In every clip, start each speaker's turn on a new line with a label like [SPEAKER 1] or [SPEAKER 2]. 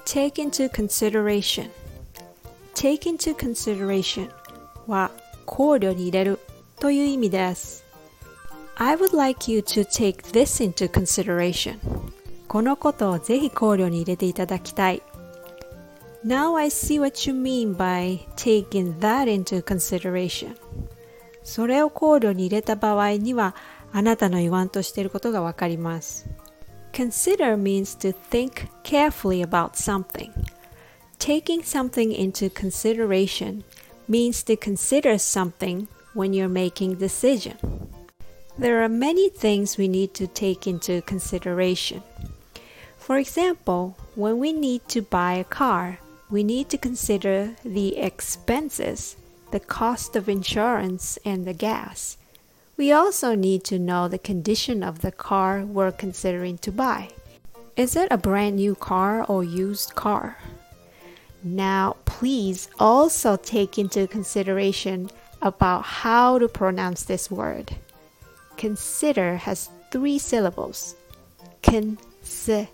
[SPEAKER 1] Take into consideration. Take into consideration は考慮に入れるという意味です。I would like you to take this into consideration. このことをぜひ考慮に入れていただきたい。Now I see what you mean by taking that into consideration. それを考慮に入れた場合には、あなたの言わんとしていることがわかります。Consider means to think carefully about something. Taking something into consideration means to consider something when you're making a decision. There are many things we need to take into consideration. For example, when we need to buy a car, we need to consider the expenses, the cost of insurance, and the gas. We also need to know the condition of the car we're considering to buy. Is it a brand new car or used car? Now, please also take into consideration about how to pronounce this word. Consider has 3 syllables. Consider.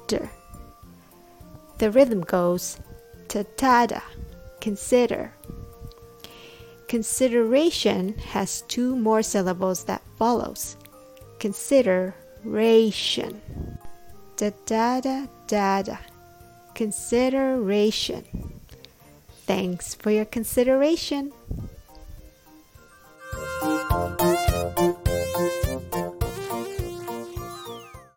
[SPEAKER 1] The rhythm goes ta-ta-da, consider. Consideration has 2 more syllables that follows. Consideration. Da-da-da-da-da. Consideration. Thanks for your consideration.